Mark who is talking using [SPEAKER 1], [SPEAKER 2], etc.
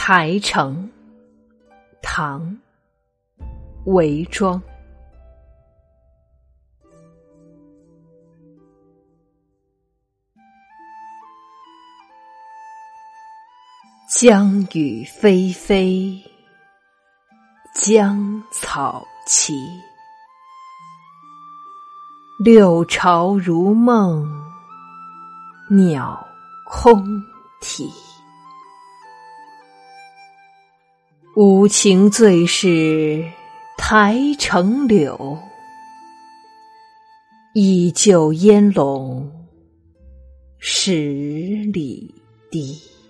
[SPEAKER 1] 台城，唐·韦庄。江雨霏霏，江草齐。六朝如梦，鸟空啼。无情最是台城柳，依旧烟笼十里堤。